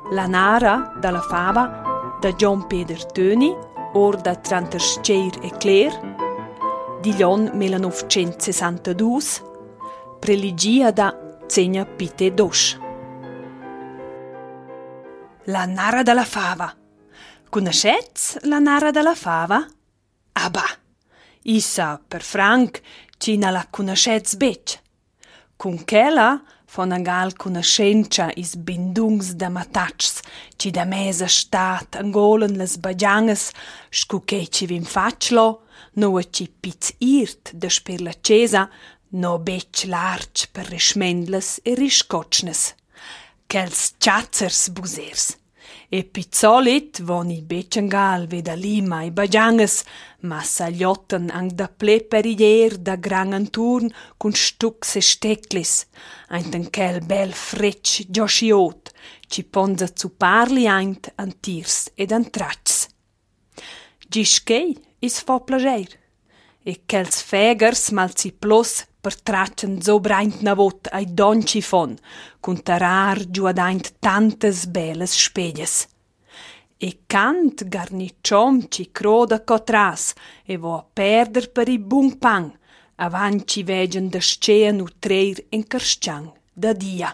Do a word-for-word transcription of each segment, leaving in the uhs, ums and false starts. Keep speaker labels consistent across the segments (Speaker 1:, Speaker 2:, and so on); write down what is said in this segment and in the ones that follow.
Speaker 1: La Nara dalla fava da John Peter Töni, or da Trantersceir e Claire, di Lion millenovecentosessantadue, preligia da Zegna Pite Dosch. La Nara dalla fava. Conoscetz la Nara dalla fava? Ah bah, issa per Frank ci na la conoscetz bec. Cun chela fon angal conoscenza is bindungs da matatschs ci da mesa stat angolen las bagiangas scu che ci vin faclo, no a ci piz irt da sper la cesa, no bec large per rischmendles e riscotschnes. Chels chazzers busers. E pizzolit von i becengal veda lima i bagiangas, ma sagliotten ang da ple perier da gran anturn cun stucs e stecklis, aint quel bel frecc giosciot, ci ponza zu parli aint an tirs ed an traccs. Gischei is fo plager, e chels fegers mal si plus per traccian so braint navot ai donci fon, cun tarar giuadaint tantas belas speglias. E cant garnicciom ci croda cotras e vo a perder per i bun pan, avant ci vegen da sceen u treir en carsciang da dia.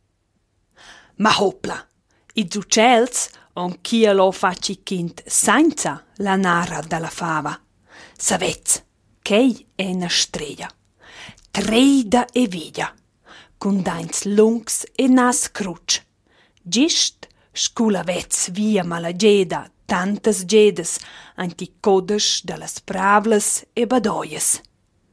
Speaker 1: Ma hopla, i zucels on chia lo faci kind senza la nara dalla fava. Savez, chei è na strella. Treida e via, cun dains lungs e nas cruc. Gist scula vez via malageda, tantas gedas, anti codes dallas pravlas e badoies.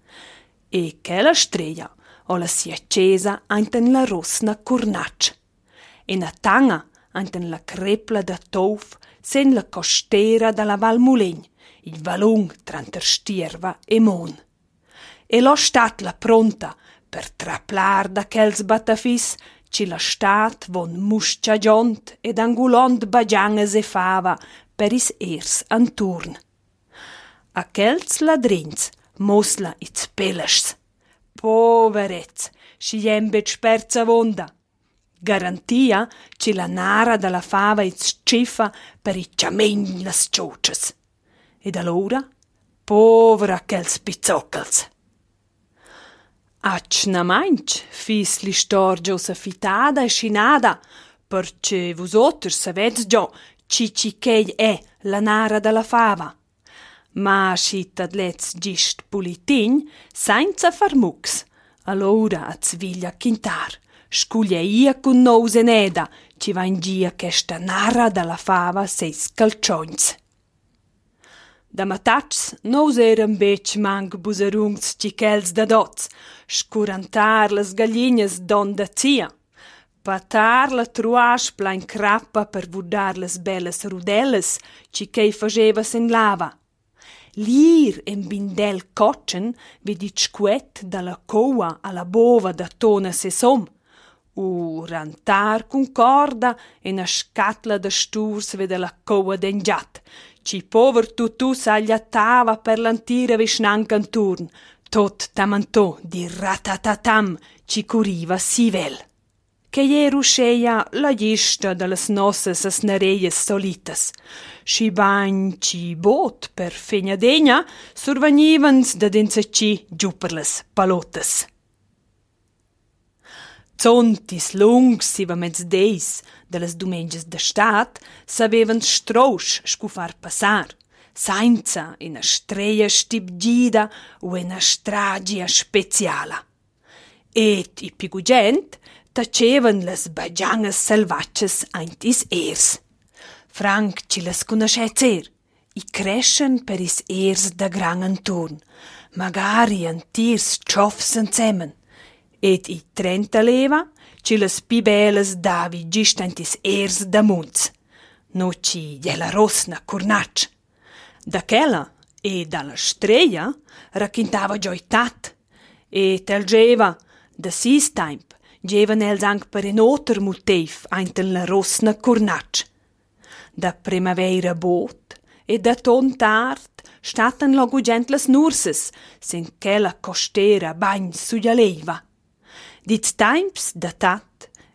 Speaker 1: E che la strella o la si accesa anten la rosna cornac. E na tanga anten la crepla da touf sen la costera dalla Val Mulegn, il valung tranter Stierva e Mon. E lo stat la pronta per traplar da chels batafis ci la stat von muscia giont ed angulont bagiangas e fava per is ers anturn. A chels ladrins mosla its peleschs. Poverez, si jembet sperza vonda. Garantia ci la nara dalla fava its ciffa per i ciamegn las ciocias. Ed allora, povera chels pizzoccals. Ac na mainch fis l'istor Josefitada e Scinada, perché vus otters savez già ci ci chei è la nara dalla fava. Ma scit ad lez gist pulitin senza far mux, allora a zviglia chintar, scuglia ia con nose neda, ci va in gia chesta nara dalla fava seis calcioins. Da matats nos eran bec mang busarungs cicels da dots, scurantar las gallinas don da zia, patar la truasch plain crappa per vudar las bellas rudelas cicei faceva sen lava. Lir en bindel cotchen vidit scuet dalla coa alla bova da tona se som, u rantar cun corda e na scatla da sturs vede la coa dengiat, ci pover tutù s'agliattava per l'antira visnan canturn, tot tamantò di ratatatam ci curiva si vel. Che jeru sceia la gista dallas nossas asnareias solitas. Sci bagn ci bot per fegna degna survagnivans da denza ci giù per las palotas. Zontis lungs siva mezz deis dallas dumengias da stat savevan strausch scufar passar, senza ina streia stibgida o ina stragia speciala. Et i pigugent tacevan las bagiangas salvatges aint is ers. Frank ci las conoscetz er, i crescen per is ers da gran anturn, magari antirs ciofs ensemen, et i trenta leva ci las pi belas davi gist aint is ers da munz, no ci gliela rosna cornac. Da chela e dalla streia racchintava gioitat, e tel geva da sis temp gevan els anc per en oter motiv ainten la rosna cornac. Da primavera bot e da ton tard statan logo gent las nurses, sen chela costera bagn suglia leiva. Dit temps da tat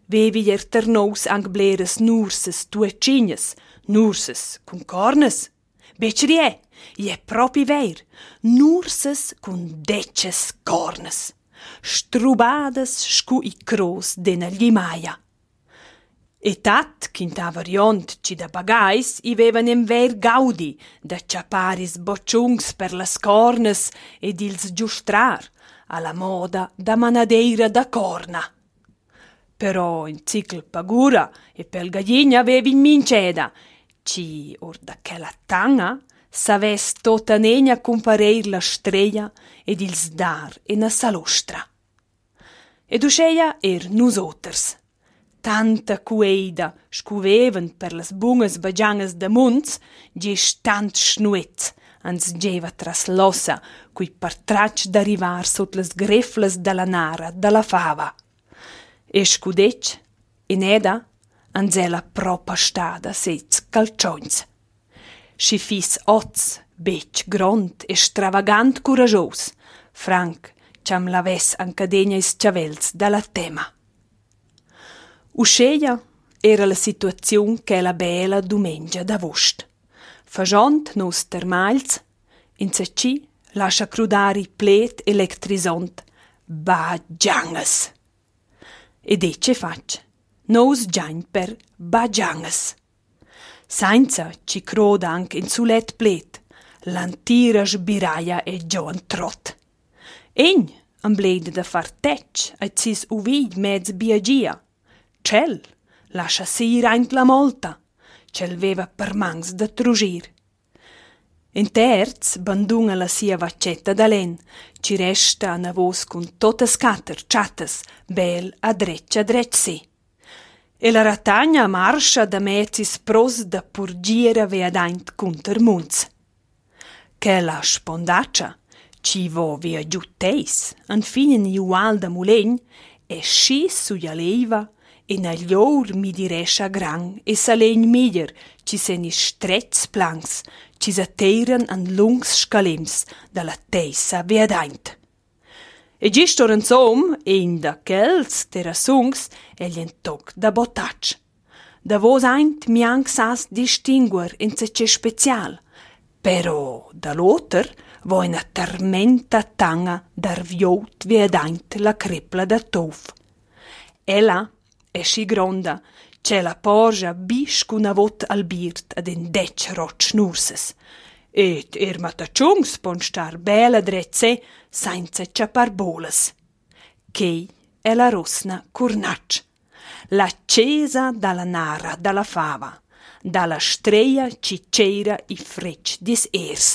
Speaker 1: vevi er ternous ang bleres nurses tuecignas, nurses cun cornes. Becri è, è propi ver, nurses cun deces cornes, strubades scu i cros dena glimaia. E tat, quinta variant ci da bagais, i vevan em ver gaudi, da ciaparis bocciungs per las cornes ed ils giustrar, alla moda da manadeira da corna. Però in cicl pagura e pel gallina avevi in minceda, ci or da che la tanga saves tota negna compareir la strella ed ils dar e na salostra. Ed usceia er nusoters. Tanta cueida scuvevan per las bungas bagiangas da munz, gis tant schnuet, ans geva tras l'ossa, cui partrac d'arrivar sot las greflas da la nara, da la fava. E scudec, in eda, ans ela propa stada sez calcions. Si fis oz, bec, grond e stravagant curagios, franc, ciam laves ancadegna is ciavels da la tema. Usceia era la situaziun che la bella dumengia d'agost. Fagiont nos termals, in zaci lascia crudari plet electrisont, bagiangas. Ed ecce fac, nos giain per bagiangas. Sainza ci croda anche in sulet plet, l'antira sbiraia e Joan trot. Egn ambleda da far tec, ai sis uvigl mezz biagia. Cel lascia sir aint la molta, cel veva per mans da trugir. In terz bandunga la sia vaccetta d'alen, ci resta a navos cun tota scatter, chattes, bel a dreccia a drec si. E la ratagna marscia da mezzis pros da purgira veadaint cunter munz. Che la spondaccia ci vo via giutteis, an finen iual da mulegn, e sci suia leiva, e negli or mi direscia gran e salegn miglier, ci sen is stretz planks, ci s'atteiran an lungs scalems dalla teissa veadaint. E gistor ansom, ein da chels terrasungs, egli en toc da botac. Da vos aint mi anc sas distinguer in ce special, però da l'oter vo una tormenta tanga dar viot veadaint la crepla da tof. Ella è sci gronda, c'è la porgia bisch cun vot al birt ad en dec roc nurses. Et er matacciungs pon star bela drezze senza ciapar bolas. Chei è la rosna curnac, l'accesa dalla nara, dalla fava, dalla streia ci c'era i frecc dis ers.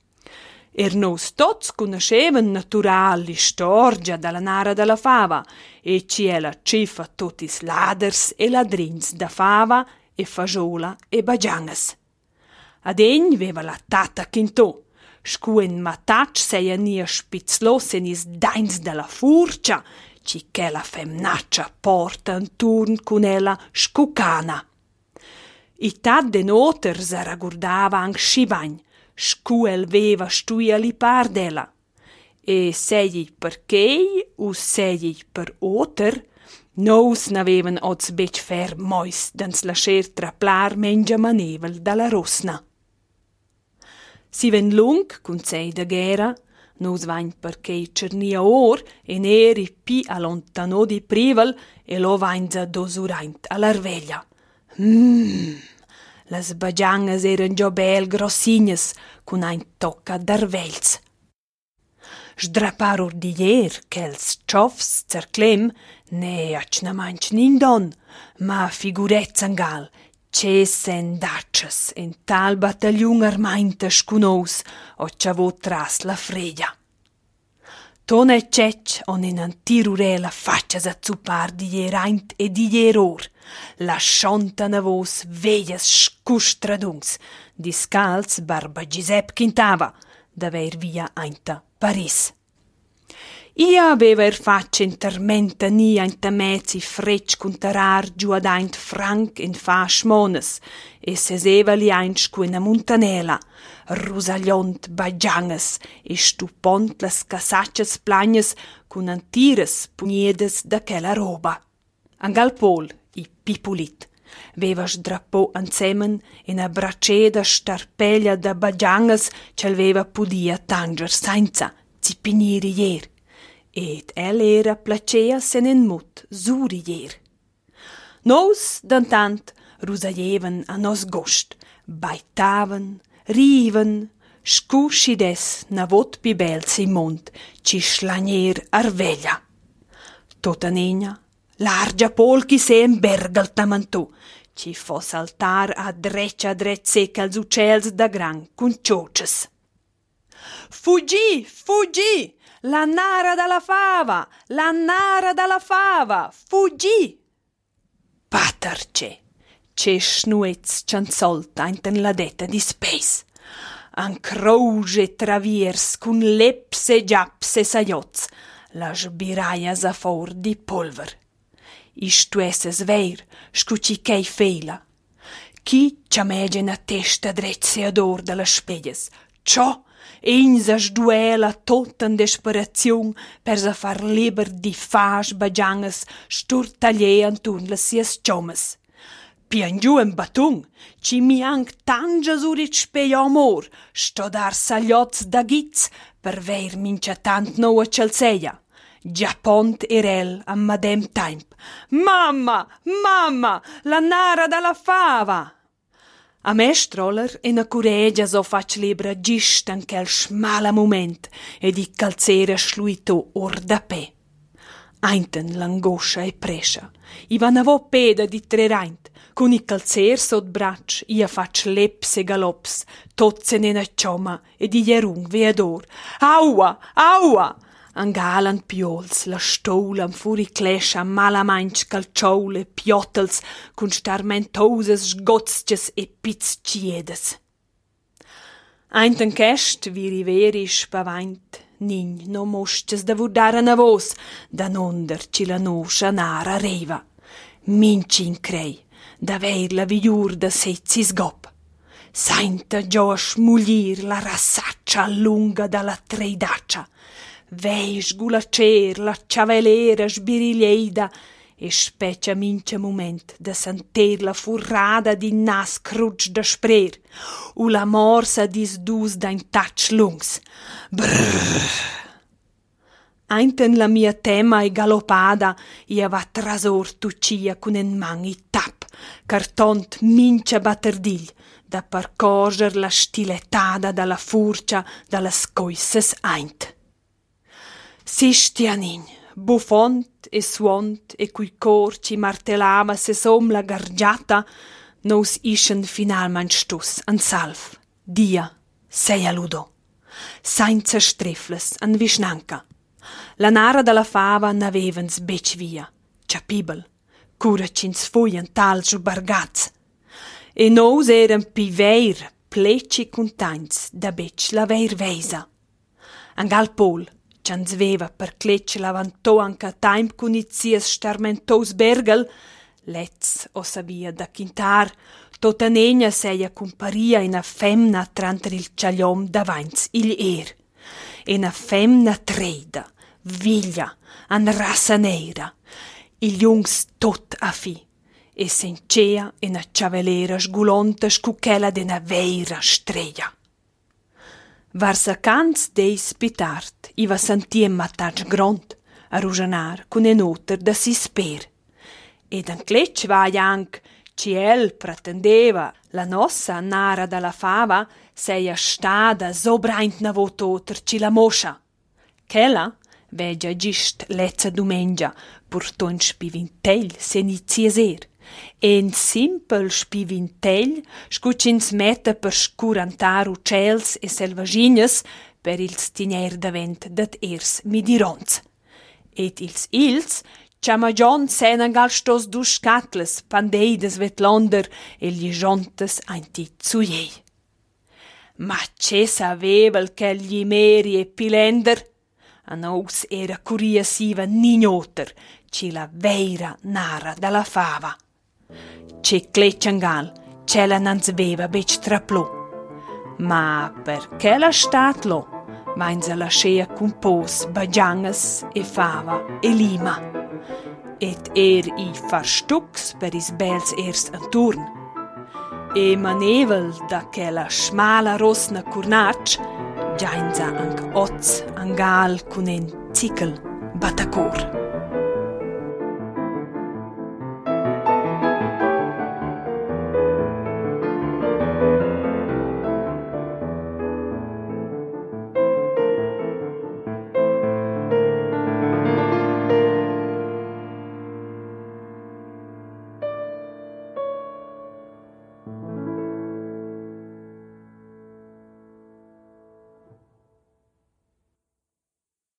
Speaker 1: Er nos tots conoscevan natural l'istorgia dalla nara dalla fava e ci è la cifa totis laders e ladrins da fava e fagiola e bagiangas. Ad egn veva la tata chintò, scuen matac seia nia spitzlos en is dains dalla furcia, ci che la femnaccia porta un turn cun ella scucana. I tat de noter se ragurdava anc scivagn, scuel veva stuia li par della. E segli per chei u segli per oter, nos n'avevan oz bec fer mois dans lascer traplar mengia manevel dalla rosna. Si ven lung cun sei da gera, nos vain per chei cernia or e neri pi allontano di privel e lo vain za dosuraint all'arveglia. Mmm! Las bagiangas eran già bel grossignas, cun ein tocca d'arvegls. Sdrapar ordiglier ch'els ciofs cerclem, ne acna manch nindon, ma figurezza angal, cesen daccias en tal battagliun armainta scunous, o ciavo tras la freglia. Tona e cec on in antirurela faccias a zupar di ieraint e di ieror, lascianta navos veias scustradungs, discals barba Giuseppe chintava, d'aver via ainta Paris. Ia aveva er faccia in tormenta ni ainta mezzi frecc cuntarar giù ad aint franc in fasch mones, e seseva li aint scu in a montanela, rusagliont bagiangas e stupont las casaccias plagnas cun antires pugnedes da quella roba. Angal Pol, i pipulit, veva sdrappò insemen in a bracceda starpeglia da bagiangas c'el veva pudia tanger senza zipiniri ier, ed el era placea se nen mut suri ier. Nos, d'antant, rusaievan a nos gost, baitavan, riven, scuscides na vot pi bel si mont, ci schlanier arveglia. Tota negna, largia polchi se en bergal tamantò, ci fo saltar a dreccia dret secca als uccels da gran cun cioces. Fuggì, fuggì, la nara dalla fava, la nara dalla fava, fuggì! Paterce, ce snuez cianzolta inten la detta di spes. An croge traviers cun lepse giapse saioz, la sbiraia sa for di polver. Istuesses veir, scuci chei fela. Chi ciamege na testa drezze ador dalla spegles, ciò Einsa sduela tot in desperaziun per sa far liber di fas bagiangas sturtaglier anturn las sias ciomas. Pian giù en batung, ci mi anc tangia surit spei amor, sto dar sagliots da gitz per veir mincia tant noa celseia. Già pont erel a madem temp. Mamma, mamma, la nara dalla fava! A me stroller e na curegia so fac libra gist an quel schmala moment ed i calzera schluito or da pe. Einten l'angoscia e prescia, i vanavo peda di treraint, con i calzer sot braccia, ia fac leps e galops, tozze nena cioma ed i jerung veador. Aua, aua! Angalan piols, la stoulan furi clescia malamainch calcioule, piottels, cun starmentoses sgotzches e pizzciedes. Einten chest vi riveri spavaint, nin no mosches da vurdare na vos, da nonder ci la noscia nara reva. Minci in crei, da veir la vigliur da sezzi sgop. Sainta gio a smuglir la rassaccia lunga dalla treidaccia. Vei sgulacer la ciavelera sbiriglieida e specia mince moment da sentir la furrada di nas cruc da sprer u la morsa dis dus da in touch lungs. Brrr. Einten la mia tema e galopada ia va trasor tucia con en man i tap, cartont mince batterdigl da percorger la stilettada dalla furcia dalla scoisses eint. Sistianin, buffont e suont e cui cor ci martellava se som la gargiata, nos ischen finalmente stus an salv, dia, seia ludo, senza strefles an visnanca. La nara dalla fava n'avevens bec via, ciapibel, cura cins fuien tal sbargats, e nos eren pi veir pleci contains da bec la veir veisa. Angal Pol, Cians veva per cletch lavantò anca taim cun izias starmentos bergel, letz o sabia da quintar, tota negna seia comparia in a femna tranter il ciagliom davanz il er, in a femna treida, viglia, an rassa neira, il jungs tot a fi, e sencea in a ciavelera sgulonta scucchela de na veira streia. Varsa cans deis pitart, i va sentiem matatg grond, a rujanar cun en oter da si sper. Ed an cletch vai anc, ci el pretendeva, la nossa nara dalla fava seia stada sobraint na vot oter ci la moscia. Chela, vegia gist lezza dumengia, purton spivintell se nizies er. En simpel spivintell scucins metta per scurantar uccels e selvagines per ils tiner davent dat ers midirons. Et ils ils ciamagion senangal stos dus scatles pandeides vetlonder e gli jontes ainti zuiei. Ma ce savevel che gli meri e pilender? A nos era curia siva nignoter, ci la veira nara dalla fava. Ce clecciangal, ce la nanzveva bec traplo. Ma perché la statlo? Mainza la scea con pos, bagiangas e fava e lima. et er i far stucs per is bels erst anturn. E manevel da quella smala rosna curnatsch, giainza anc oz angal cun en zikel batacor.